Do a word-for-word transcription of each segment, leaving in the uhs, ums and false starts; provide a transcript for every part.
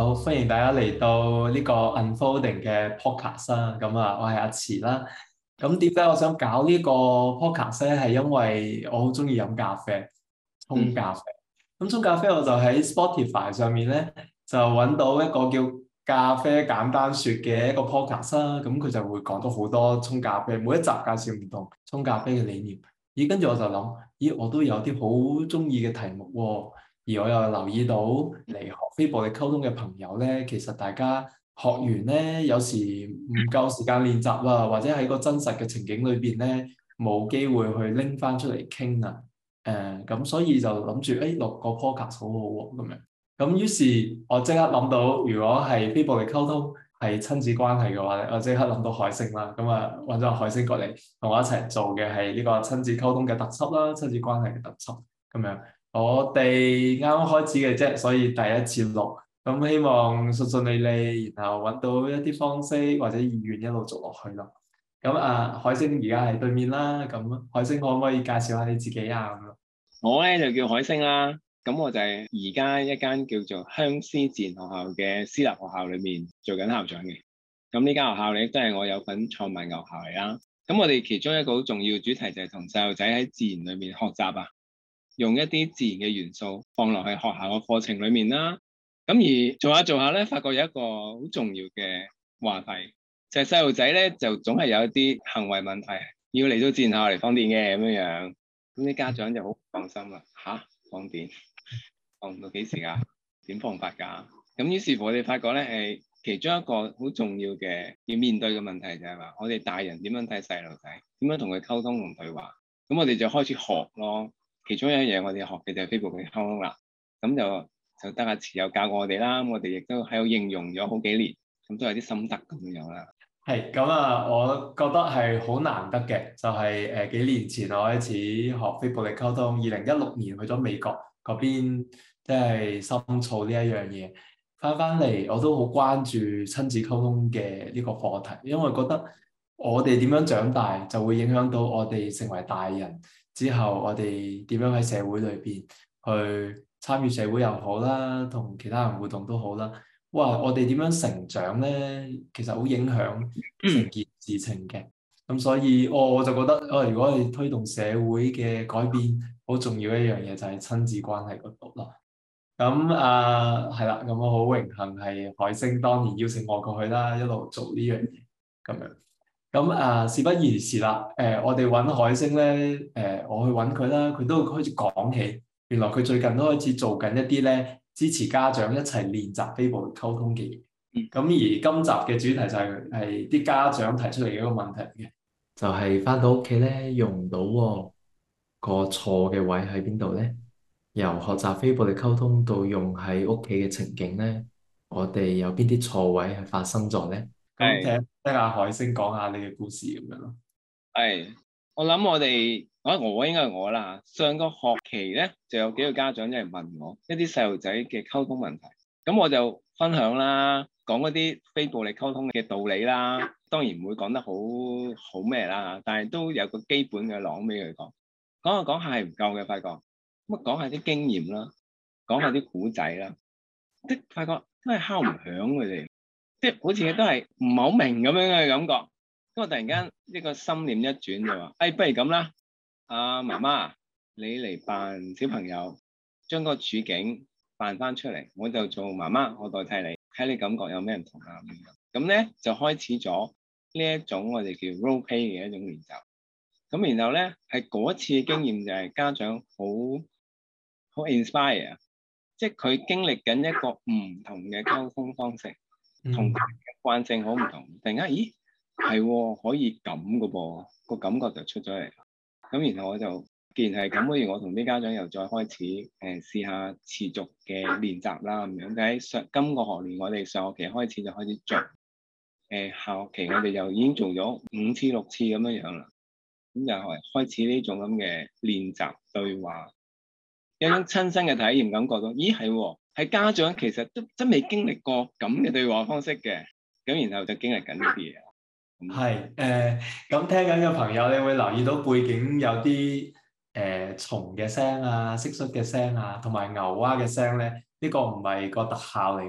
好，歡迎大家嚟到呢個 Unfolding 嘅 podcast 啦。咁啊，我係阿慈啦。咁點解我想搞呢個 podcast 咧？係因為我好中意飲咖啡，沖咖啡。咁沖咖啡我就喺 Spotify 上面咧，就揾到一個叫咖啡簡單說嘅一個 podcast 啦。咁佢就會講到好多沖咖啡，每一集介紹唔同沖咖啡嘅理念。咦，跟住我就諗，咦，我都有啲好中意嘅題目喎。而我又留意到嚟學非暴力溝通嘅朋友咧，其實大家學完咧，有時唔夠時間練習啦，或者喺個真實嘅情景裏邊咧，冇機會去拎翻出嚟傾啊。誒、呃，咁所以就諗住誒錄個 podcast 好好喎咁樣。咁於是我即刻諗到，如果係非暴力溝通係親子關係嘅話咧，我即刻諗到海星啦。咁啊揾咗海星過嚟同我一齊做嘅係呢個親子溝通嘅特輯啦，親子關係嘅特輯咁樣。我哋啱啱開始嘅啫，所以第一次錄，咁希望順順利利，然後揾到一啲方式或者意願一路做落去咯。咁啊，海星而家喺對面啦，咁海星可唔可以介紹下你自己啊？咁我咧就叫海星啦，咁我就係而家一間叫做香思自然學校嘅私立學校裏面做緊校長嘅。咁呢間學校咧都係我有份創辦嘅學校嚟啦。咁我哋其中一個好重要嘅主題就係同細路仔喺自然裏面學習啊。用一啲自然嘅元素放落去學校嘅課程裏面啦，咁而做下做下咧，發覺有一個好重要嘅話題，就係細路仔咧就總係有一啲行為問題，要嚟到自然學校嚟放電嘅咁樣樣，咁啲家長就好唔放心啦，吓，放電放到幾時啊？點放法㗎？咁於是乎我哋發覺咧，誒其中一個好重要嘅要面對嘅問題就係話，我哋大人點樣睇細路仔，點樣同佢溝通同對話，咁我哋就開始學咯。其中一樣嘢我哋學嘅就係非暴力溝通啦，咁就就得阿慈有教過我哋啦，我哋亦都喺度應用咗好幾年，咁都有啲心得咁樣啦。係咁啊，我覺得係好難得嘅，就係、是、誒、呃、幾年前我開始學非暴力溝通，二零一六年去咗美國嗰邊，即係深造呢一樣嘢，翻翻嚟我都好關注親子溝通嘅呢個課題，因為覺得我哋點樣長大就會影響到我哋成為大人。之後我哋點樣喺社會裏邊去參與社會又好啦，同其他人互動都好啦。哇！我哋點樣成長咧，其實好影響成件事情嘅。咁所以我、哦、我就覺得，哦，如果我哋推動社會嘅改變，好重要一樣嘢就係親子關係嗰度咯。咁啊，係啦，咁我好榮幸係海星當年邀請我過去啦，一路做呢樣嘢咁樣。咁啊，事不宜遲啦。誒、呃，我哋揾海星咧，誒、呃，我去揾佢啦。佢都開始講起，原來佢最近都開始做緊一啲咧，支持家長一齊練習非暴力溝通嘅嘢。咁、嗯、而今集嘅主題就係係啲家長提出嚟嘅一個問題嘅，就係翻到屋企咧用唔到喎，個錯嘅位喺邊度咧？由學習非暴力溝通到用喺屋企嘅情景咧，我哋有邊啲錯位係發生咗咧？咁聽聽下海星講下你嘅故事咁樣咯。 係，我諗我哋，我我應該係我啦。上個學期咧，就有幾個家長一嚟問我一啲細路仔嘅溝通問題，咁我就分享啦，講嗰啲非暴力溝通嘅道理啦。當然唔會講得好好咩啦，但係都有個基本嘅朗俾佢講。講下講下係唔夠嘅，發覺咁啊，講下啲經驗啦，講下啲古仔啦，即係發覺都係敲唔響佢哋。即係好似都係唔係好明咁樣嘅感覺，咁我突然間呢個心念一轉就話，誒、哎，不如咁啦，阿、啊、媽媽，你嚟扮小朋友，將個處境扮翻出嚟，我就做媽媽，我代替你，睇你感覺有咩唔同啊？咁咧就開始咗呢一種我哋叫 role play 嘅一種練習。咁然後咧係嗰次嘅經驗就係家長好好 inspire，即係佢經歷緊一個唔同嘅溝通方式。同慣性好唔同，突然間，咦，係可以咁嘅噃，個感覺就出咗嚟。咁然後我就，既然係咁，不如我同啲家長又再開始誒、呃、試下持續嘅練習啦，咁樣。就喺上今個學年，我哋上學期開始就開始做，誒、呃、下學期我哋就已經做咗五次六次咁樣樣啦。咁就係開始呢種咁嘅練習對話，有種親身嘅體驗，感覺到，咦，係喎。係家長其實都真未經歷過咁嘅對話方式嘅，咁然後就經歷緊呢啲嘢。 係誒，咁、呃、聽緊嘅朋友，你會留意到背景有啲誒、呃、蟲嘅聲啊、蟋蟀嘅聲啊，同埋牛蛙嘅聲咧。呢、這個唔係個特效嚟嘅，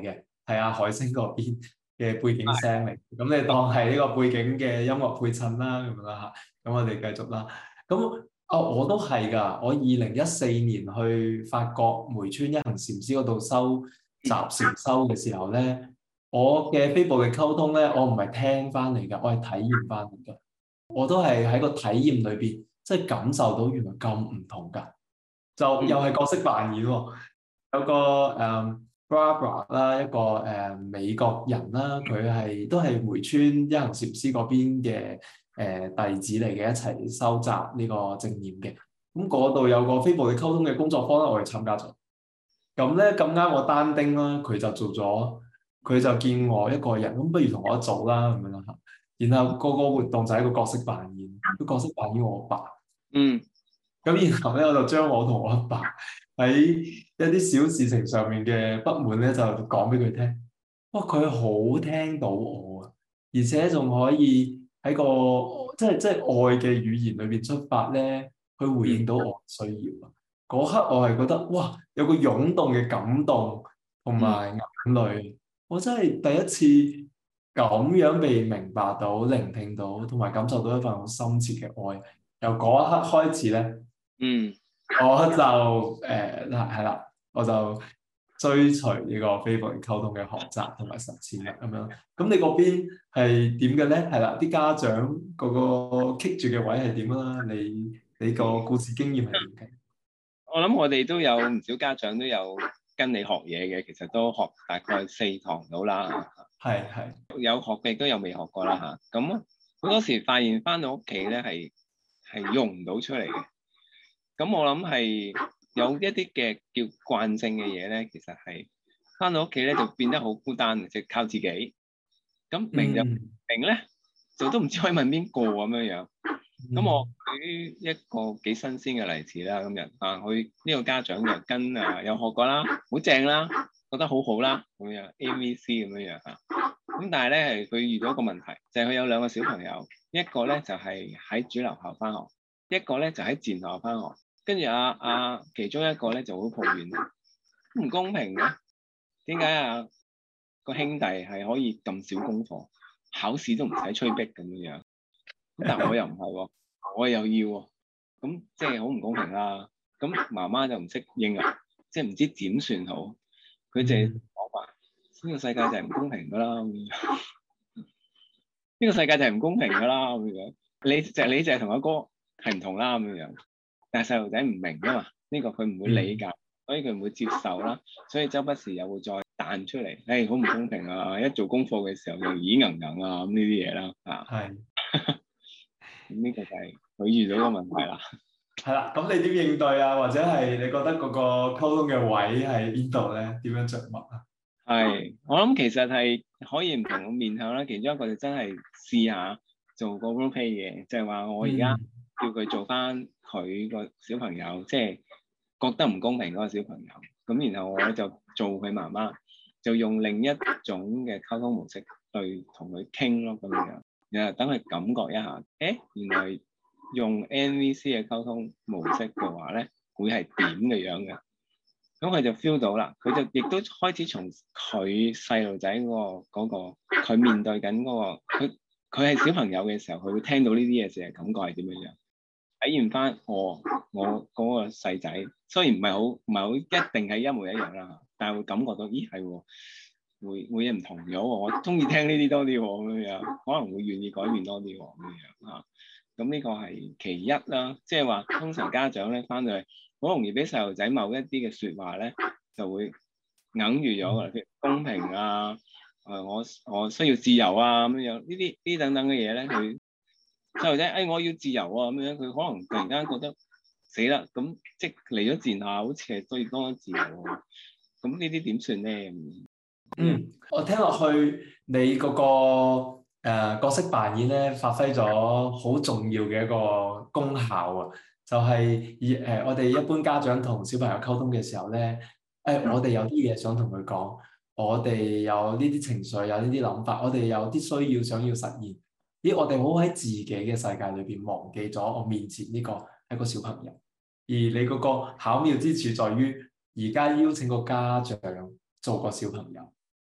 係阿海星嗰邊嘅背景聲嚟，咁你當係呢個背景嘅音樂配襯啦，咁樣啦嚇。咁我哋繼續啦。咁啊，我都係㗎。我二零一四年去法國梅村一行禪師嗰度修習禪修嘅時候咧，我嘅非暴力溝通咧，我唔係聽翻嚟㗎，我係體驗翻嚟㗎。我都係喺個體驗裏邊，即係感受到原來咁唔同㗎。就又係角色扮演喎，有個誒、嗯、Barbara 啦，一個誒、呃、美國人啦，佢係都係梅村一行禪師嗰邊嘅誒、呃、弟子嚟嘅，一齊收集呢個正念嘅。咁嗰度有個非暴力溝通嘅工作坊咧，我哋參加咗。咁咧咁啱我單丁啦，佢就做咗，佢就見我一個人，咁不如同我一組啦咁樣啦嚇。然後個個活動就係一個角色扮演，個角色扮演我爸。 嗯。 咁然後咧，我就將我同我阿爸喺一啲小事情上面嘅不滿咧，就講俾佢聽。哇！佢好聽到我啊，而且仲可以喺個即係即係愛嘅語言裏邊出發咧，去回應到我需要啊。嗰刻我係覺得哇，有個湧動嘅感動同埋眼淚，我真係第一次咁樣被明白到、聆聽到，同埋感受到一份好深切嘅愛。由嗰一刻開始咧。 嗯， 我就誒嗱係啦，我就追隨呢個非暴力溝通嘅學習同埋實踐啦，咁樣。咁你嗰邊係點嘅咧？係啦，啲家長嗰個棘住嘅位係點啦？你你個故事經驗係點嘅？ 我諗我哋都有唔少家長都有跟你學嘢嘅，其實都學大概四堂到啦。 係係有學嘅，亦都有未學過啦嚇。咁好多時發現翻到屋企咧，係係用唔到出嚟嘅。咁我諗係有一啲嘅叫慣性嘅嘢咧，其實係翻到屋企咧就變得好孤單，即係靠自己。咁明就明咧，就都唔知可以問邊個咁樣樣。咁我舉一個幾新鮮嘅例子啦，今日啊，佢呢個家長就跟啊有學過啦，好正啦，覺得好好啦，咁樣 A V C 咁樣樣嚇。咁但係咧係佢遇到一個問題，就係佢有兩個小朋友，一個咧就係喺主流校翻學，一個咧就喺自然學校翻學。跟住啊啊，其中一個咧就好抱怨，唔公平嘅，點解啊個兄弟係可以咁少功課，考試都唔使催逼咁樣樣，咁但我又唔係喎，我又要喎，咁即係好唔公平啦。咁媽媽就唔識應啊，即係唔知點算好，佢就講話呢個世界就係唔公平噶啦，呢個世界就係唔公平噶啦咁樣，你就你就係同阿哥係唔同啦咁樣。但係細路仔唔明啊嘛，呢個佢唔會理解，所以佢唔會接受啦，所以周不時又會再彈出嚟，誒好唔公平啊！一做功課嘅時候又耳硬硬啊咁呢啲嘢啦，啊，係，咁呢個就係佢遇到嘅問題啦。 係啦，咁你點應對啊？或者係你覺得嗰個溝通嘅位喺邊度咧？點樣着墨啊？係， 我諗其實係可以唔同嘅面向啦，其中一個就真係試下做個 role play 嘅，即係話我而家叫佢做翻佢個小朋友，即係覺得唔公平嗰個小朋友，咁然後我就做佢媽媽，就用另一種嘅溝通模式去同佢傾咯，咁樣，然後等佢感覺一下，誒，原來用 N V C 嘅溝通模式嘅話咧，會係點嘅樣嘅，咁佢就 feel 到啦，佢就亦都開始從佢細路仔嗰個嗰個佢面對緊嗰個，佢佢係小朋友嘅時候，佢會聽到呢啲嘢時，感覺係點樣樣？體驗翻我我嗰個細仔，雖然唔係好唔係好一定係一模一樣啦，但係會感覺到，咦係喎，會會唔同咗喎，我中意聽呢啲多啲喎，咁樣可能會願意改變多啲喎，咁樣嚇。咁呢個係其一啦，即係話通常家長咧翻到嚟，好容易俾細路仔某一啲嘅説話咧，就會硬住咗㗎，譬如公平啊，誒、呃、我我需要自由啊咁樣，呢啲呢等等嘅嘢咧，佢細路仔誒我要自由啊咁樣，佢可能突然間覺得死啦，咁即係嚟咗自然下，好似係對多自由喎，咁呢啲點算咧？ 嗯，我聽落去你嗰、那個誒、呃、角色扮演咧，發揮咗好重要嘅一個功效啊！就係以誒我哋一般家長同小朋友溝通嘅時候咧，誒、呃、我哋有啲嘢想同佢講，我哋有呢啲情緒，有呢啲諗法，我哋有啲需要想要實現。咦，我哋好喺自己嘅世界裏邊忘記咗我面前呢個係個小朋友，而你嗰個巧妙之處在於，而家邀請個家長做個小朋友。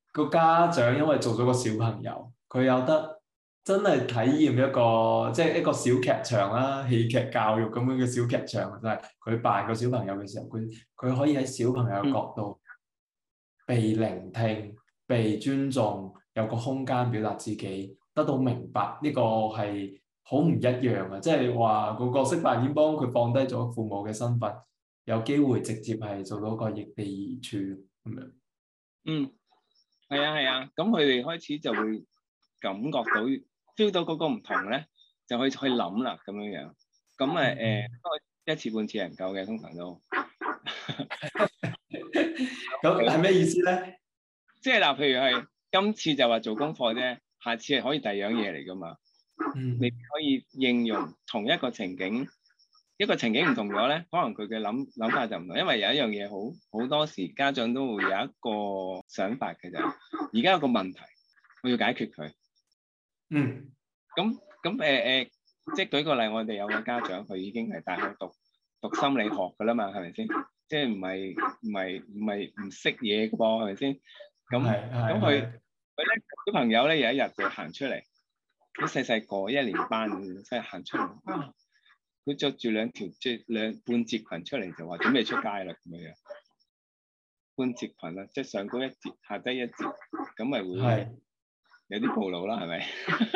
個家長因為做咗個小朋友，佢有得真係體驗一個即係一個小劇場啦，戲劇教育咁樣嘅小劇場，就係佢扮個小朋友嘅時候，佢佢可以喺小朋友嘅角度被聆聽、被尊重，有個空間表達自己，得到明白，呢個係好唔一樣嘅。即係話個角色扮演幫佢放低咗父母嘅身份，有機會直接係做到個易地而處咁樣。 嗯，係啊係啊，咁佢哋開始就會感覺到 feel 到嗰個唔同咧，就可以去諗啦咁樣樣。咁誒誒，一次半次係唔夠嘅，通常都。 咁係咩意思咧？ 即係嗱，譬如係今次就話做功課啫，下次係可以第二樣嘢嚟噶嘛。 嗯， 你可以應用同一個情景，一個情景唔同咗咧，可能佢嘅諗諗法就唔同。因為有一樣嘢好好多時家長都會有一個想法嘅就係，而家有個問題，我要解決佢。 嗯。 咁咁誒誒，即係舉個例，我哋有個家長，佢已經係大學讀讀心理學㗎啦嘛，係咪先？即係唔係唔係唔係唔識嘢嘅噃，係咪先？咁咁佢佢咧小朋友咧有一日就行出嚟，好細細個一年班咁，即係行出嚟啊！佢着住兩條即兩半截裙出嚟，就話準備出街啦咁樣。半截裙啦，即係上高一截，下低一截，咁咪會有啲暴露啦，係咪？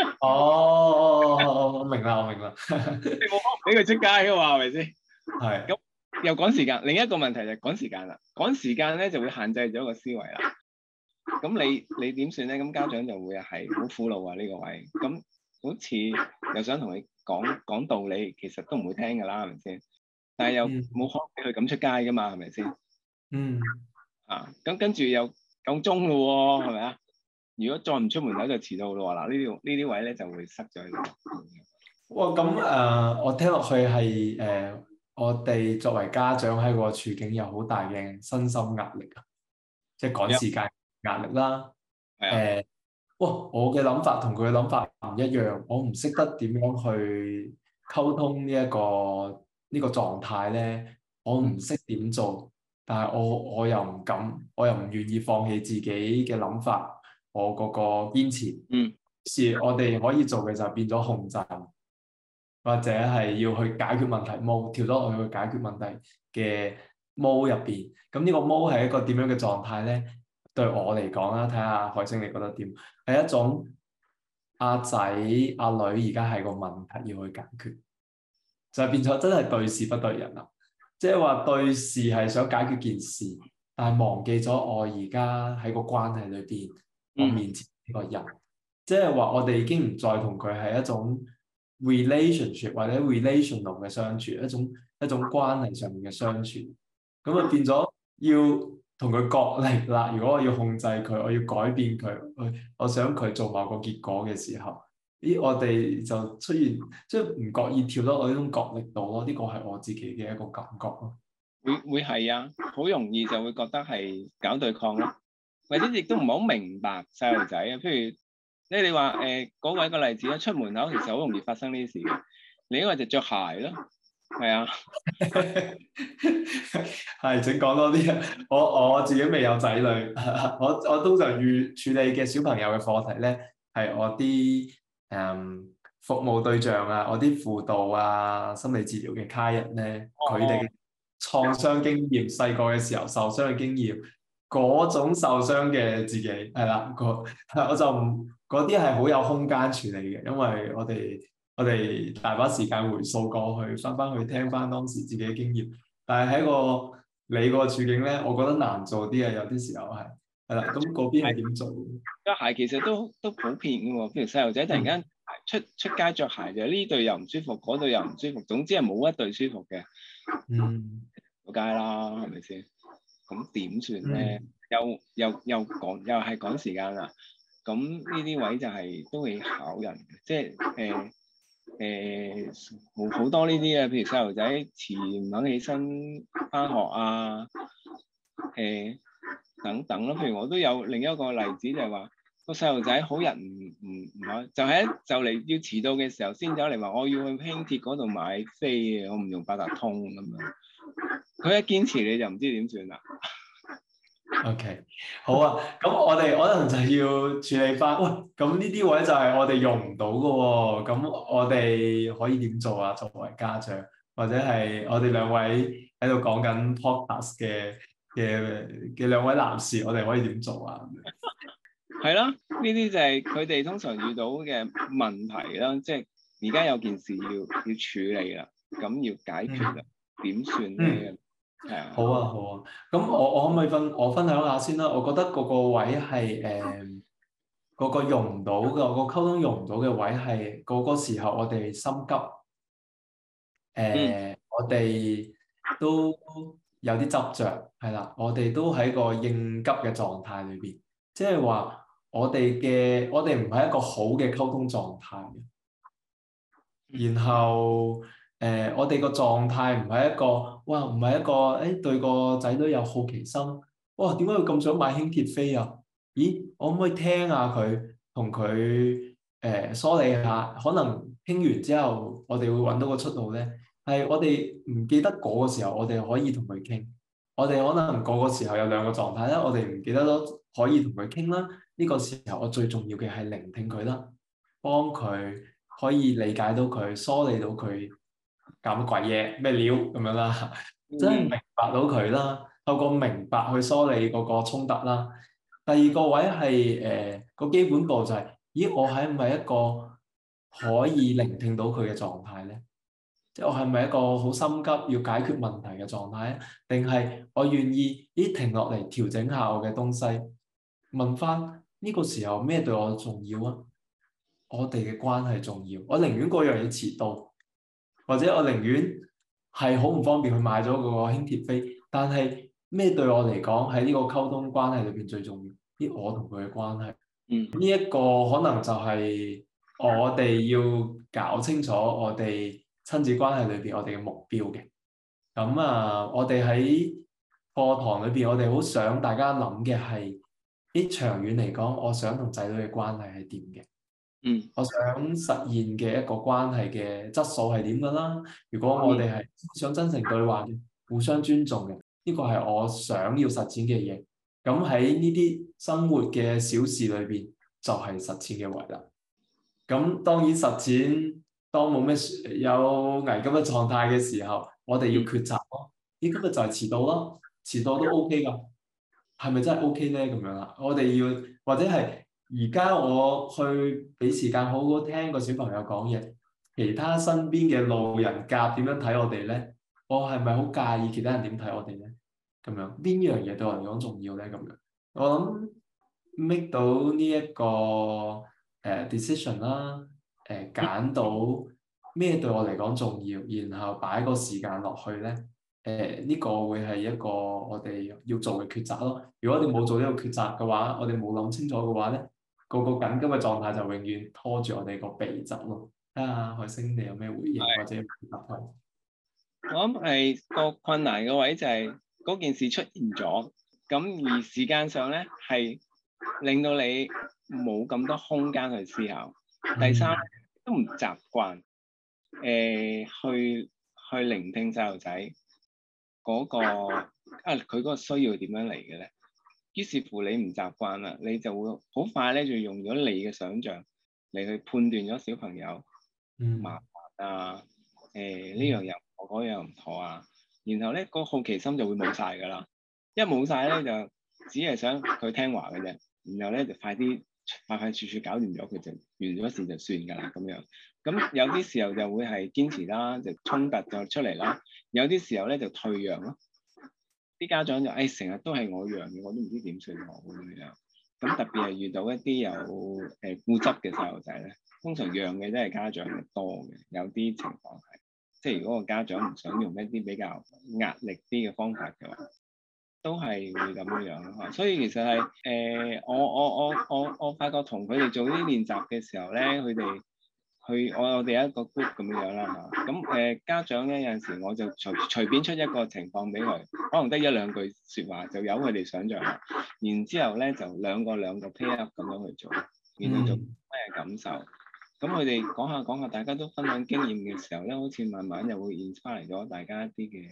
哦，我明啦，我明啦。 你冇可能俾佢出街噶嘛，係咪先？ 係。 咁又趕時間，另一個問題就係趕時間啦。趕時間咧就會限制咗個思維啦。咁你你點算咧？咁家長就會係好苦惱啊呢個位。咁好似又想同你講講道理，其實都唔會聽㗎啦，係咪先？但係又冇可能俾佢咁出街㗎嘛，係咪先？ 嗯。 啊，咁跟住又夠鐘咯喎，係咪啊？如果再唔出門口就遲到咯喎。嗱，呢啲呢啲位咧就會塞咗喺度。 哇，咁誒、呃，我聽落去係誒、呃，我哋作為家長喺個處境有好大嘅身心壓力啊，即係趕時間壓力啦。誒、呃，哇，我嘅諗法同佢嘅諗法唔一樣，我唔識得點樣去溝通呢、這、一個呢、這個狀態咧，我唔識點做，但係我我又唔敢，我又唔願意放棄自己嘅諗法，我嗰個堅持。 嗯。 是我哋可以做嘅就變咗控制。或者係要去解決問題 mode 調咗落去解決問題嘅 mode 入邊，咁呢個 mode 係一個點樣嘅狀態咧？對我嚟講啦，睇下海星你覺得點？係一種阿仔阿女而家係個問題要去解決，就係變咗真係對事不對人啦。即係話對事係想解決件事，但係忘記咗我而家喺個關係裏邊，我面前呢個人，即係話我哋已經唔再同佢係一種 relationship 或者 relational 嘅相處，一種一種關係上面嘅相處，咁啊變咗要同佢角力啦。如果我要控制佢，我要改變佢，我想佢做某個結果嘅時候，咦，我哋就出現即係唔覺意跳到我呢種角力度咯。呢個係我自己嘅一個感覺咯。 會會係啊，好容易就會覺得係搞對抗咯，或者亦都唔係好明白細路仔啊。譬如即係你話誒嗰個一個例子啦，出門口其實好容易發生呢啲事嘅。另一個就着鞋咯，係啊， 係請講多啲啊！我我自己未有仔女，我我通常遇處理嘅小朋友嘅課題咧，係我啲誒、嗯、服務對象啊，我啲輔導啊、心理治療嘅客人咧，佢哋嘅創傷經驗，細個嘅時候受傷嘅經驗，嗰種受傷嘅自己係啦，個我就唔嗰啲係好有空間處理嘅，因為我哋我哋大把時間回溯過去，翻翻去聽翻當時自己嘅經驗。但係喺個你個處境咧，我覺得難做啲啊，有啲時候係係啦。咁嗰邊係點做？ 着鞋其實都都普遍嘅喎，譬如細路仔突然間出、嗯、出街着鞋就呢對又唔舒服，嗰對又唔舒服，總之係冇一對舒服嘅。 嗯， 出街啦，係咪先？咁點算咧？ 嗯、又又又趕又係趕時間啦。咁呢啲位就係都會考人嘅，即係誒誒好好多呢啲啊，譬如細路仔遲唔肯起身返學啊，誒、呃、等等咯。譬如我都有另一個例子就係話個細路仔好人唔唔唔可，就喺就嚟要遲到嘅時候先走嚟話我要去輕鐵嗰度買飛嘅，我唔用八達通咁樣。佢一堅持你就唔知點算啦。 OK，好啊，咁我哋可能就要處理翻，喂，咁呢啲位就係我哋用唔到嘅喎，咁我哋可以點做啊？作為家長，或者係我哋兩位喺度講緊 podcast 嘅嘅嘅兩位男士，我哋可以點做啊？ 係啦，呢啲就係佢哋通常遇到嘅問題啦，即係而家有件事要要處理啦，咁要解決啦，點算咧？係啊， 好啊，好啊，咁我我可唔可以分我分享下先啦？我覺得嗰個位係誒嗰個用唔到嘅，個溝通用唔到嘅位係嗰個時候我哋心急，誒、 嗯呃、我哋都有啲執着，係啦，我哋都喺個應急嘅狀態裏邊，即係話我哋嘅我哋唔係一個好嘅溝通狀態嘅。然後誒、呃，我哋個狀態唔係一個，哇，唔係一個，誒、欸、對個仔女有好奇心，哇，點解佢咁想買輕鐵飛啊？咦，我可唔可以聽下佢，同佢誒梳理下，可能傾完之後，我哋會揾到個出路咧。係我哋唔記得嗰個時候，我哋可以同佢傾。我哋可能嗰個時候有兩個狀態啦，我哋唔記得咗可以同佢傾啦。呢、這個時候我最重要嘅係聆聽佢啦，幫佢。可以理解到佢，梳理到佢搞乜鬼嘢咩料咁樣啦，真係明白到佢啦。透過明白去梳理嗰個衝突啦。第二個位係誒個基本步就係、是，咦，我係唔係一個可以聆聽到佢嘅狀態咧？即係我係咪一個好心急要解決問題嘅狀態咧？定係我願意咦停落嚟調整下我嘅東西，問翻呢個時候咩對我重要啊？我哋嘅關係重要，我寧願嗰樣嘢遲到，或者我寧願係好唔方便去買咗嗰個輕鐵飛，但係咩對我嚟講喺呢個溝通關係裏邊最重要？啲我同佢嘅關係， 嗯， 呢一個可能就係我哋要搞清楚我哋親子關係裏邊我哋嘅目標嘅。咁啊，我哋喺課堂裏邊，我哋好想大家諗嘅係，啲長遠嚟講，我想同仔女嘅關係係點嘅？ 嗯， 我想實現嘅一個關係嘅質素係點㗎啦？如果我哋係想真誠對話嘅，互相尊重嘅，呢個係我想要實踐嘅嘢。咁喺呢啲生活嘅小事裏邊，就係實踐嘅位啦。咁當然實踐，當冇咩有危急嘅狀態嘅時候，我哋要抉擇咯。咦，今日就係遲到咯，遲到都 OK 㗎，係咪真係 OK 咧？咁樣啦，我哋要或者係。而家我去俾時間好好聽個小朋友講嘢，其他身邊嘅路人甲點樣睇我哋咧？我係咪好介意其他人點睇我哋咧？咁樣邊樣嘢對我嚟講重要咧？咁樣我諗 make 到呢、這、一個誒、uh, decision 啦，誒揀到咩對我嚟講重要，然後擺個時間落去咧，誒、uh, 呢個會係一個我哋要做嘅抉擇咯。如果我哋冇做呢個抉擇嘅話，我哋冇諗清楚嘅話咧，個個緊急嘅狀態就永遠拖住我哋個鼻疾咯。睇下海星你有咩回應係或者答案？ 我諗係個困難嘅位就係嗰件事出現咗，咁而時間上咧係令到你冇咁多空間去思考。第三都唔習慣誒去去聆聽細路仔嗰個啊佢嗰個需要點樣嚟嘅咧？於是乎你唔習慣啦，你就會好快咧就用咗你嘅想像嚟去判斷咗小朋友麻煩啊，誒呢樣又唔妥，嗰樣又唔妥啊，然後咧個好奇心就會冇晒㗎啦，一冇晒咧就只係想佢聽話嘅啫，然後咧就快啲快快脆脆搞掂咗佢就完咗事就算㗎啦咁樣。咁有啲時候就會係堅持啦，就衝突就出嚟啦，有啲時候咧就退讓咯。啲家長就誒成日都係我讓嘅，我都唔知點算好咁樣。咁特別係遇到一啲有誒、呃、固執嘅細路仔咧，通常讓嘅都係家長嘅多嘅。有啲情況係，即係如果個家長唔想用一啲比較壓力啲嘅方法嘅話，都係會咁樣樣咯。所以其實係誒、呃，我我我我我發覺同佢哋做呢啲練習嘅時候咧，佢哋。去我我哋有一個 group 咁樣啦嚇，咁誒、呃、家長咧有陣時我就隨隨便出一個情況俾佢，可能得一兩句説話就由佢哋想像啦，然之後咧就兩個兩個 pair up 咁樣去做，然後做咩感受，咁佢哋講下講下，大家都分享經驗嘅時候咧，好似慢慢又會 inspire 咗大家一啲嘅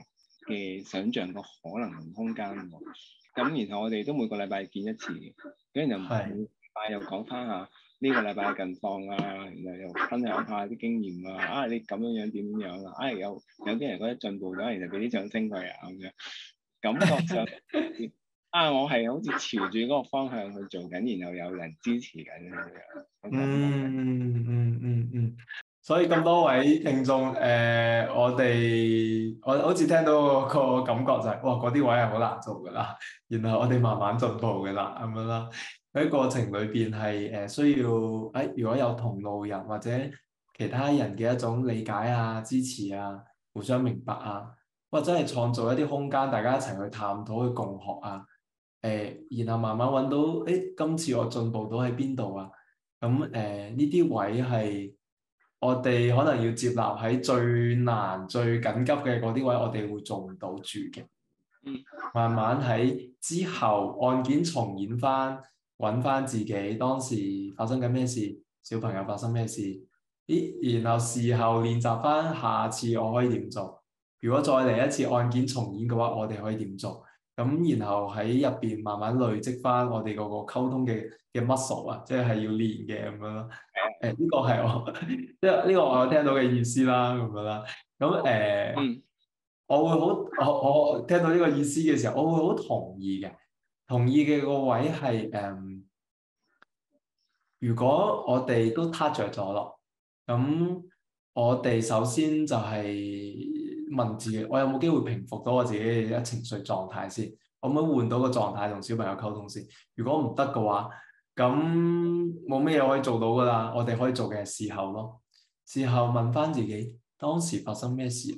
嘅想像個可能同空間喎。咁然後我哋都每個禮拜見一次嘅，跟住就每禮拜又講翻下呢個禮拜嘅近況啊，然後又分享下啲經驗啊，啊你咁樣樣點樣啊，啊有有啲人覺得進步咗，然後俾啲掌聲佢啊咁樣，感覺上啊我係好似朝住嗰個方向去做緊，然後有人支持緊咁樣。 嗯嗯嗯嗯嗯，所以咁多位聽眾，誒、呃、我哋我好似聽到個感覺就係、是，哇嗰啲位係好難做㗎啦，然後我哋慢慢進步㗎啦，咁樣啦。喺過程裏邊係誒需要誒、哎，如果有同路人或者其他人嘅一種理解啊、支持啊、互相明白啊，或者係創造一啲空間，大家一齊去探討、去共學啊，誒、呃，然後慢慢揾到誒、哎，今次我進步到喺邊度啊？咁誒呢啲位係我哋可能要接納喺最難、最緊急嘅嗰啲位，我哋會做唔到住嘅。 嗯， 慢慢喺之後案件重演翻，揾翻自己當時發生緊咩事，小朋友發生咩事，咦？然後事後練習翻，下次我可以點做？如果再嚟一次案件重演嘅話，我哋可以點做？咁然後喺入邊慢慢累積翻我哋嗰個溝通嘅嘅 muscle 啊，即係要練嘅咁樣咯。誒呢個係我即係呢個我有聽到嘅意思啦，咁樣啦。咁誒，呃嗯， 我會好我我聽到呢個意思嘅時候，我會好同意嘅。同意嘅個位係誒、嗯，如果我哋都撻着咗咯，咁我哋首先就係問自己，我有冇機會平復到我自己嘅情緒狀態先？可唔可以換到個狀態同小朋友溝通先？如果唔得嘅話，咁冇咩嘢可以做到噶啦。我哋可以做嘅係事後咯，事後問翻自己當時發生咩事，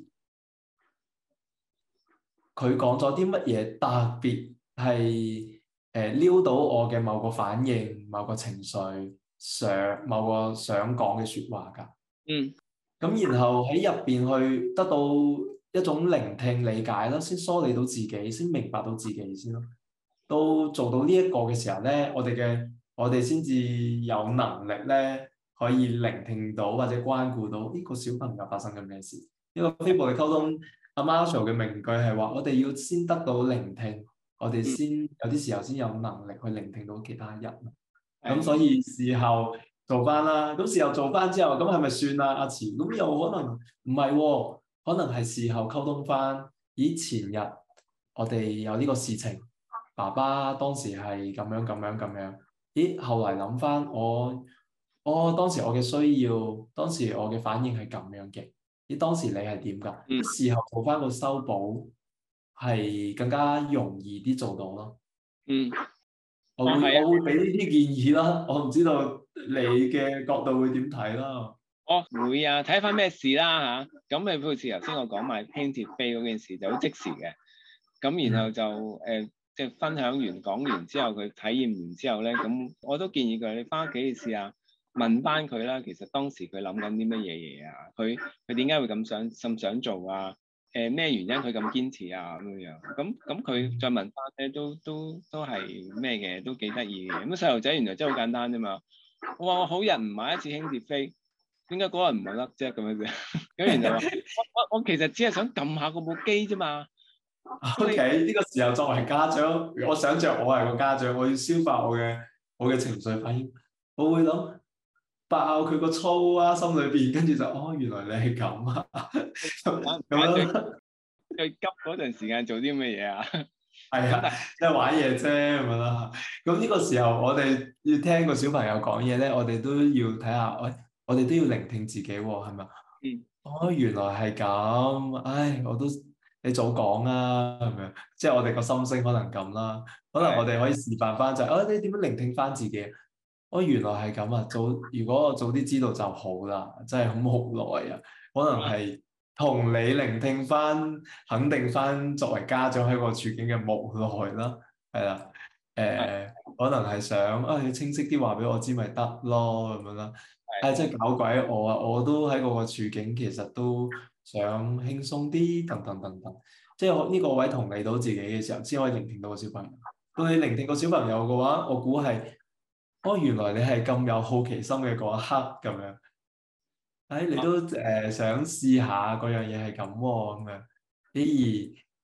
佢講咗啲乜嘢特別係誒撩到我嘅某個反應、某個情緒、想某個想講嘅説話㗎。 嗯， 咁然後喺入邊去得到一種聆聽理解啦，先梳理到自己，先明白到自己先咯。到做到呢一個嘅時候咧，我哋嘅我哋先至有能力咧，可以聆聽到或者關顧到呢個小朋友發生緊咩事。呢個非暴力溝通，阿 Marshall 嘅名句係話：我哋要先得到聆聽，我哋先有啲時候先有能力去聆聽到其他人。咁、嗯、所以事後做翻啦，咁事後做翻之後，咁係咪算啦？阿慈，咁又可能唔係喎，可能係事後溝通翻。咦，前日我哋有呢個事情，爸爸當時係咁樣咁樣咁樣。咦，後嚟諗翻我，我當時我嘅需要，當時我嘅反應係咁樣嘅。咦，當時你係點㗎？ 嗯， 事後做翻個修補係更加容易啲做到咯。 嗯， 我會、 啊、 我會俾呢啲建議啦。我唔知道你嘅角度會點睇啦。 我、哦、會啊，睇翻咩事啦嚇。咁你好似頭先我講埋輕鐵飛嗰件事就好即時嘅。咁然後就誒。 嗯呃即係分享完講完之後，佢體驗完之後咧，咁我都建議佢，你翻屋企試下問翻佢啦。其實當時佢諗緊啲乜嘢嘢啊？佢佢點解會咁想咁想做啊？誒、呃、咩原因佢咁堅持啊？咁樣樣咁咁佢再問翻咧，都都都係咩嘅？都幾得意嘅。咁細路仔原來真係好簡單啫嘛。我話我好人唔買一次輕鐵飛，點解嗰日唔係甩啫咁樣啫？咁然後話我我我其實只係想撳下嗰部機啫嘛。 O.K. 呢個時候作為家長，我想像我係個家長，我要消化我嘅我嘅情緒反應，我會諗爆佢個粗啊，心裏邊，跟住就哦，原來你係咁啊，咁樣最急嗰陣時間做啲咩嘢啊？ 係啊，即係玩嘢啫咁樣啦。咁呢個時候我哋要聽個小朋友講嘢咧，我哋都要睇下，喂，我哋都要聆聽自己喎，係咪？ 嗯。 哦，原來係咁，唉，我都。你早講啊，係咪？即係我哋個心聲可能咁啦，可能我哋可以示範翻就係、是，啊，你點樣聆聽翻自己？哦，原來係咁啊！早如果我早啲知道就好啦，真係好無奈啊！可能係同你聆聽翻，肯定翻作為家長喺個處境嘅無奈啦，係啦，誒、呃，可能係想啊，你清晰啲話俾我知咪得咯，咁樣啦。誒、啊，即係搞鬼我啊！我都喺嗰個處境，其實都想輕鬆啲，等等等等。即係呢個位同理到自己嘅時候，先可以聆聽到個小朋友。到你聆聽個小朋友嘅話，我估係，哦，原來你係咁有好奇心嘅嗰一刻咁樣。誒、哎，你都誒、呃、想試下嗰樣嘢係咁喎，咁樣。咦？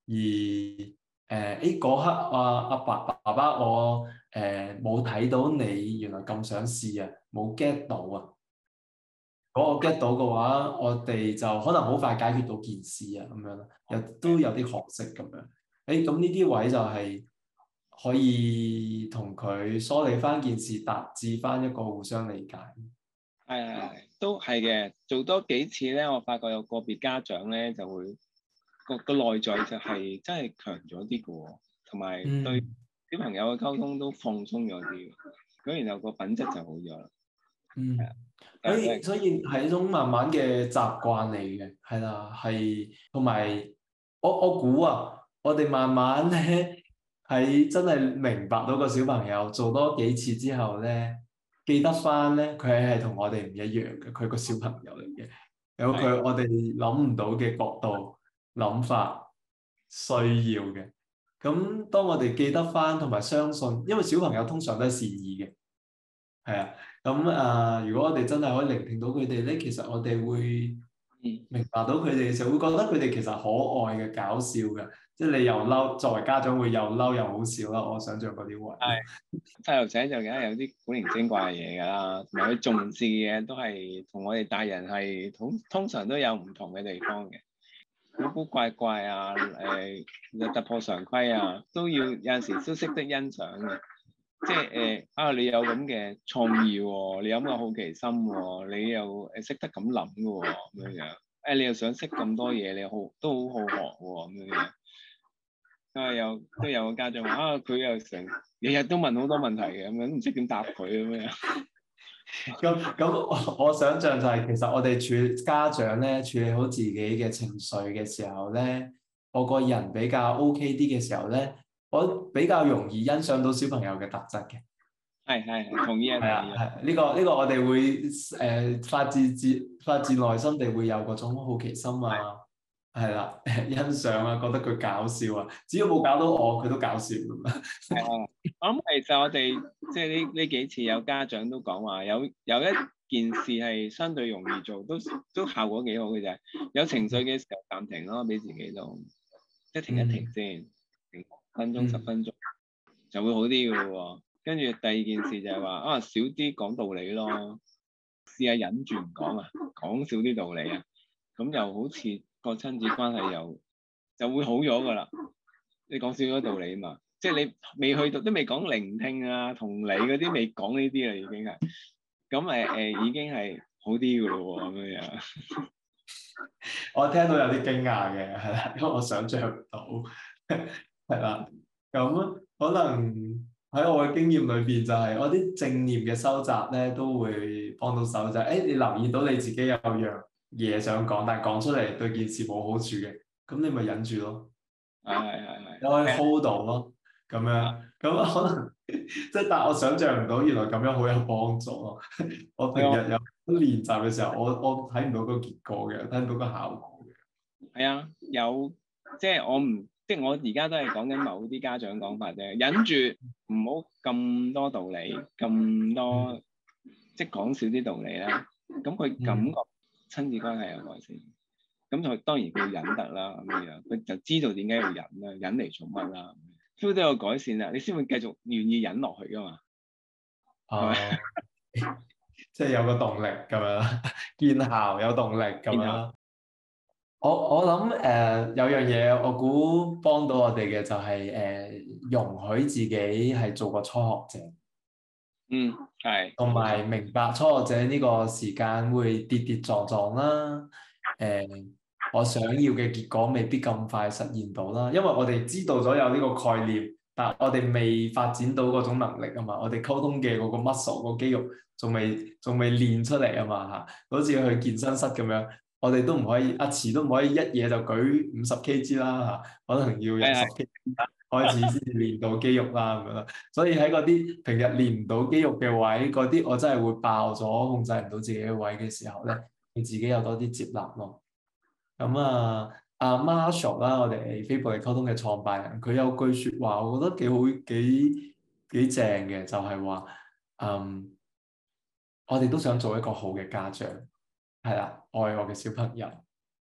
而誒誒嗰刻啊阿爸爸爸我誒冇睇到你原來咁想試啊，冇 get 到啊。如果我 get 到嘅話，我哋就可能好快解決到件事啊，咁樣咯，又都有啲可惜咁樣。誒，咁呢啲位就係可以同佢梳理翻件事，達至翻一個互相理解。 係係係，都係嘅。做多幾次咧，我發覺有個別家長咧就會個個內在就係真係強咗啲嘅喎，同埋對嗯小朋友嘅溝通都放鬆咗啲，咁然後個品質就好咗啦。係啊， 嗯。所但係以所以係一種慢慢嘅習慣嚟嘅，係啦，係同埋我我估啊，我哋慢慢咧喺真係明白到個小朋友做多幾次之後咧，記得翻咧佢係同我哋唔一樣嘅，佢個小朋友嚟嘅，有係佢我哋諗唔到嘅角度、諗法、需要嘅。咁當我哋記得翻同埋相信，因為小朋友通常都係善意嘅。係啊，咁啊、呃，如果我哋真係可以聆聽到佢哋咧，其實我哋會嗯明白到佢哋嘅時候，會覺得佢哋其實可愛嘅、搞笑嘅，即係你又嬲，作為家長會又嬲又好笑啦。我想象嗰啲位。 係細路仔就梗係有啲古靈精怪嘅嘢㗎啦，同埋佢重視嘅嘢都係同我哋大人係通通常都有唔同嘅地方嘅，古古怪怪啊，誒、呃、突破常規啊，都要有陣時都識得欣賞嘅。即係誒、呃、啊！你有咁嘅創意喎、哦，你有咁嘅好奇心喎、哦，你又誒識得咁諗嘅喎，咁樣樣誒，你又想識咁多嘢，你好都好好學喎、哦，咁樣樣。啊，有都有個家長話啊，佢又成日日都問好多問題嘅，咁樣唔知點答佢咁樣。 咁咁，我我想象就係、是、其實我哋處理家長咧處理好自己嘅情緒嘅時候咧，我個人比較 OK 啲嘅時候咧，我比較容易欣賞到小朋友嘅特質嘅。 係係係，同意啊， 係啊， 同意啊。 係呢個呢個我哋會誒、呃、發自自發自內心地會有嗰種好奇心啊，係啦，欣賞啊，覺得佢搞笑啊，只要冇搞到我，佢都搞笑咁啊。 係啊，我諗其實我哋即係呢呢幾次有家長都講話，有有一件事係相對容易做，都都效果幾好嘅啫。有情緒嘅時候暫停咯，俾自己都即係停一停先，停分鐘十嗯分鐘就會好啲嘅喎。跟住第二件事就係話啊，少啲講道理咯，試下忍住唔講啊，講少啲道理啊，咁又好似個親子關係又就會好咗噶啦。你講少咗道理嘛，即係你未去到都未講聆聽啊、同理嗰啲未講呢啲啦，已經係咁誒誒，已經係好啲噶咯喎，咁樣樣。 我聽到有啲驚訝嘅，係啦，因為我想象唔到，係啦，咁可能喺我嘅經驗裏邊就係、是、我啲正念嘅收集咧都會幫到手，就係、是、誒你留意到你自己有樣嘢想講，但係講出嚟對件事冇好處嘅，咁你咪忍住咯， 係係係係。 你可以 hold 到咯，咁樣，咁可能即係但係我想象唔到原來咁樣好有幫助咯，我平日有練習嘅時候，我我睇唔到個結果嘅，睇唔到個效果嘅。 係啊，有即係我唔即係我而家都係講緊某啲家長講法啫，忍住唔好咁多道理，咁多、 嗯即係講少啲道理啦。咁佢感覺親子關係有改善，咁佢當然佢忍得啦咁樣，佢就知道點解要忍啦，忍嚟做乜啦，feel 都有改善啦，你先會繼續願意忍落去噶嘛，係咪？ 哦，即係有個動力咁樣，見效有動力咁樣然後啦。我我諗誒、呃、有樣嘢我估幫到我哋嘅就係、是、誒、呃、容許自己係做個初學者， 嗯係同冇錯， 埋明白初學者呢個時間會跌跌撞撞啦。誒、呃，我想要嘅結果未必咁快實現到啦，因為我哋知道咗有呢個概念，但係我哋未發展到嗰種能力啊嘛。我哋溝通嘅嗰個 muscle 個肌肉仲未仲未練出嚟啊嘛嚇，好似去健身室咁樣。我哋都唔可以，阿慈都唔可以一嘢就舉五十 kg 啦嚇，可能要由十係係 kg 開始先至練到肌肉啦咁樣啦。所以喺嗰啲平日練唔到肌肉嘅位，嗰啲我真係會爆咗，控制唔到自己嘅位嘅時候咧，你自己有多啲接納咯。咁啊，阿 Marshall 啦，我哋非暴力溝通嘅創辦人，佢有句説話，我覺得幾好幾幾正嘅，就係話，嗯，我哋都想做一個好嘅家長。係啦，愛我嘅小朋友，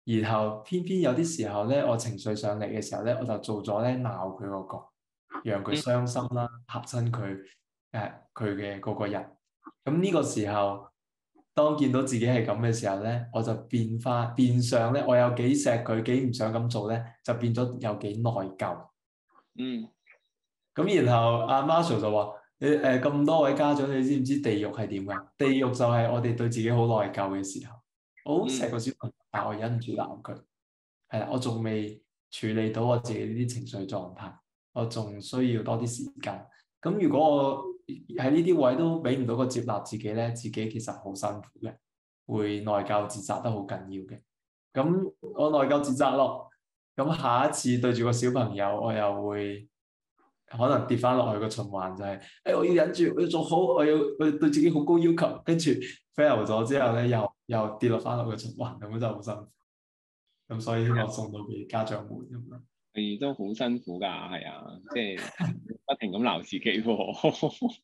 然後偏偏有啲時候咧，我情緒上嚟嘅時候咧，我就做咗咧鬧佢嗰個，讓佢傷心啦，嚇親佢誒佢嘅嗰個人。咁呢個時候，當見到自己係咁嘅時候咧，我就變化變相咧，我有幾錫佢，幾唔想咁做咧，就變咗有幾內疚。 嗯。 咁然後阿 Marshall 就話：你誒咁多位家長，你知唔知地獄係點㗎？地獄就係我哋對自己好內疚嘅時候。我好錫個小朋友，但我忍唔住鬧佢。係啦，我仲未處理到我自己呢啲情緒狀態，我仲需要多啲時間。咁如果我喺呢啲位都俾唔到個接納自己咧，自己其實好辛苦嘅，會內疚自責得好緊要嘅。咁我內疚自責咯，咁下一次對住個小朋友，我又會可能跌翻落去個循環，就係、是、誒、哎、我要忍住，我要做好，我要我要對自己好高要求，跟住 fail 咗之後咧，又又跌落翻落個循環，咁樣就好辛苦。咁所以希望送到俾家長們咁樣。 係都好辛苦㗎，係啊，即係不停咁鬧自己喎。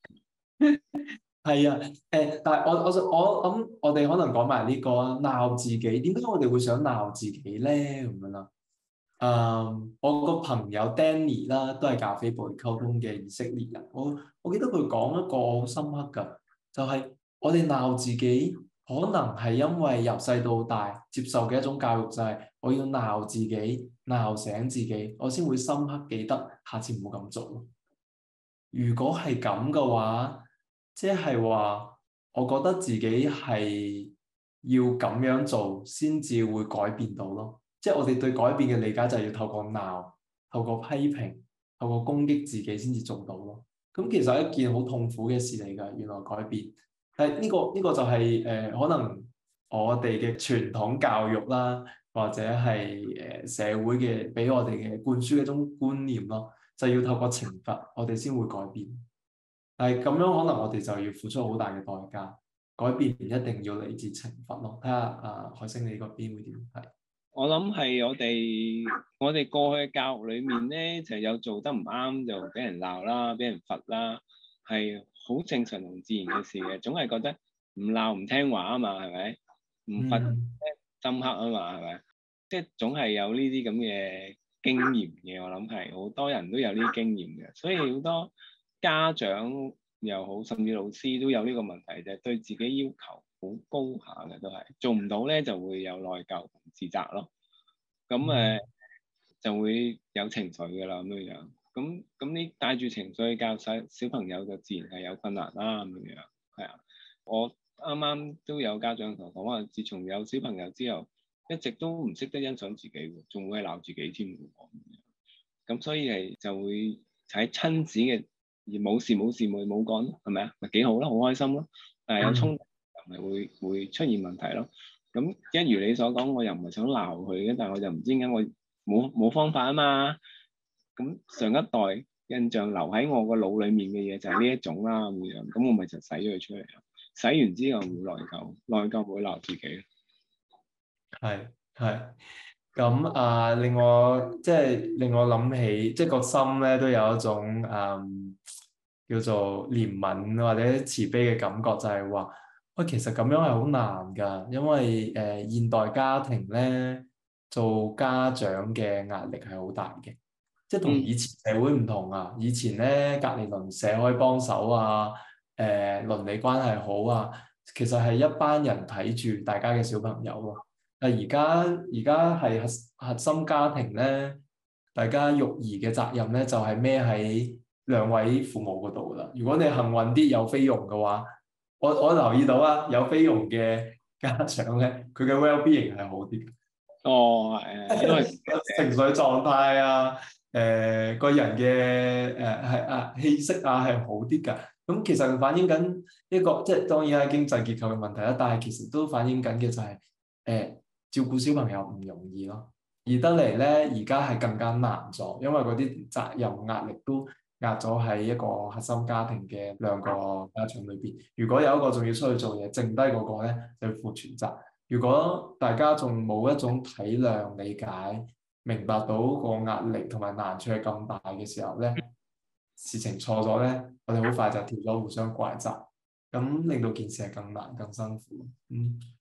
係啊，誒、呃，但係我我我諗我哋可能講埋呢個啊，鬧自己，點解我哋會想鬧自己咧？咁樣啦，誒，我個朋友 Danny 啦，都係咖啡部溝通嘅以色列人，我我記得佢講一個好深刻㗎，就係、是、我哋鬧自己，可能係因為由細到大接受嘅一種教育，就係我要鬧自己，鬧醒自己，我先會深刻記得下次唔好咁做。如果係咁嘅話，即係話，我覺得自己係要咁樣做先至會改變到咯。即係我哋對改變嘅理解就係要透過鬧、透過批評、透過攻擊自己先至做到咯。咁其實係一件好痛苦嘅事嚟㗎，原來改變。但係呢個呢個就係誒可能我哋嘅傳統教育啦，或者係誒社會嘅俾我哋嘅灌輸嘅一種觀念咯，就要透過懲罰我哋先會改變。但係咁樣可能我哋就要付出好大嘅代價，改變唔一定要嚟自懲罰咯。睇下啊，海星你嗰邊會點睇？ 我諗係我哋我哋過去嘅教育裏面咧，就有做得唔啱就俾人鬧啦，俾人罰啦，係好正常同自然嘅事嘅。總係覺得唔鬧唔聽話啊嘛，係咪？唔罰深刻啊嘛，係咪？即係總係有呢啲咁嘅經驗嘅。我諗係好多人都有呢啲經驗嘅，所以好多家長又好，甚至老師都有呢個問題，就係對自己要求好高下嘅，都係做唔到咧，就會有內疚同自責咯。咁誒、呃、就會有情緒㗎啦，咁樣樣。咁咁你帶住情緒教細小朋友，就自然係有困難啦，咁樣樣。係啊，我啱啱都有家長同我講話，自從有小朋友之後，一直都唔識得欣賞自己喎，仲會鬧自己添喎。咁所以係就會喺親子嘅而冇事冇事冇冇講，係咪啊？咪幾好咯，好開心咯。但係有衝突又咪會會出現問題咯。咁一如你所講，我又唔係想鬧佢嘅，但係我就唔知點解我冇冇方法啊嘛。咁上一代印象留喺我個腦裡面嘅嘢就係呢一種啦，咁樣。咁我咪就洗咗佢出嚟咯。洗完之後會內疚，內疚會鬧自己。 係係。咁啊，令我即係令我諗起，即係個心咧都有一種誒、嗯、叫做憐憫或者慈悲嘅感覺，就係話喂，其實咁樣係好難㗎，因為誒、呃、現代家庭咧做家長嘅壓力係好大嘅，即係同以前社會唔同啊。以前咧隔離鄰舍可以幫手啊，誒、呃、鄰里關係好啊，其實係一班人睇住大家嘅小朋友咯。但而家而家係核核心家庭咧，大家育兒嘅責任咧就係孭喺兩位父母嗰度啦。如果你幸運啲有菲傭嘅話，我我留意到啊，有菲傭嘅家長咧，佢嘅 well-being 係好啲。 哦，誒，因為情緒狀態啊，誒、呃、個人嘅誒係啊氣息啊係好啲㗎。咁其實反映緊一個即係當然係經濟結構嘅問題啦，但係其實都反映緊嘅就係、是、誒。呃照顧小朋友唔容易咯，而得嚟咧，而家係更加難咗，因為嗰啲責任壓力都壓咗喺一個核心家庭嘅兩個家長裏邊。如果有一個仲要出去做嘢，剩低嗰個咧就要負全責。如果大家仲冇一種體諒、理解、明白到個壓力同埋難處係咁大嘅時候咧，事情錯咗咧，我哋好快就跳咗互相怪責，咁令到件事係更難、更辛苦。嗯。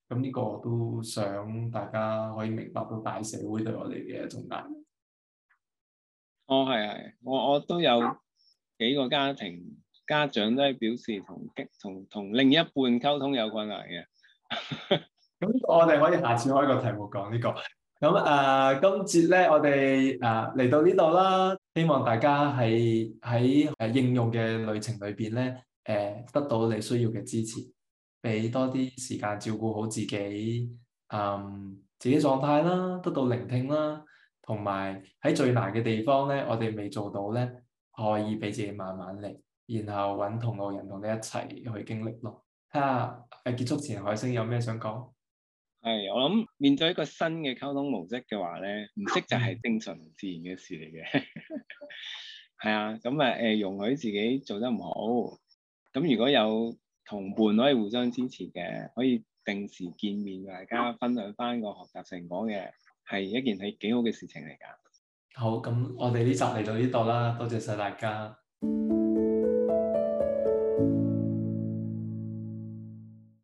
咁呢個都想大家可以明白到大社會對我哋嘅一種壓力。 哦，係係，我我都有幾個家庭家長都係表示同同同另一半溝通有困難嘅。 咁我哋可以下次開個題目講呢個。咁誒、呃，今節咧我哋誒嚟到呢度啦，希望大家喺喺誒應用嘅旅程裏邊咧，誒、呃、得到你需要嘅支持，俾多啲時間照顧好自己，嗯，自己狀態啦，得到聆聽啦，同埋喺最難嘅地方咧，我哋未做到咧，可以俾自己慢慢嚟，然後揾同路人同你一齊去經歷咯。睇下誒結束前，海星有咩想講？ 係，我諗面對一個新嘅溝通模式嘅話咧，唔識就係正常自然嘅事嚟嘅。係啊，咁啊誒，容許自己做得唔好。咁如果有同伴可以互相支持嘅，可以定時見面，大家分享翻個學習成果嘅，係一件係幾好嘅事情嚟㗎。 好，咁我哋呢集嚟到呢度啦，多謝晒大家。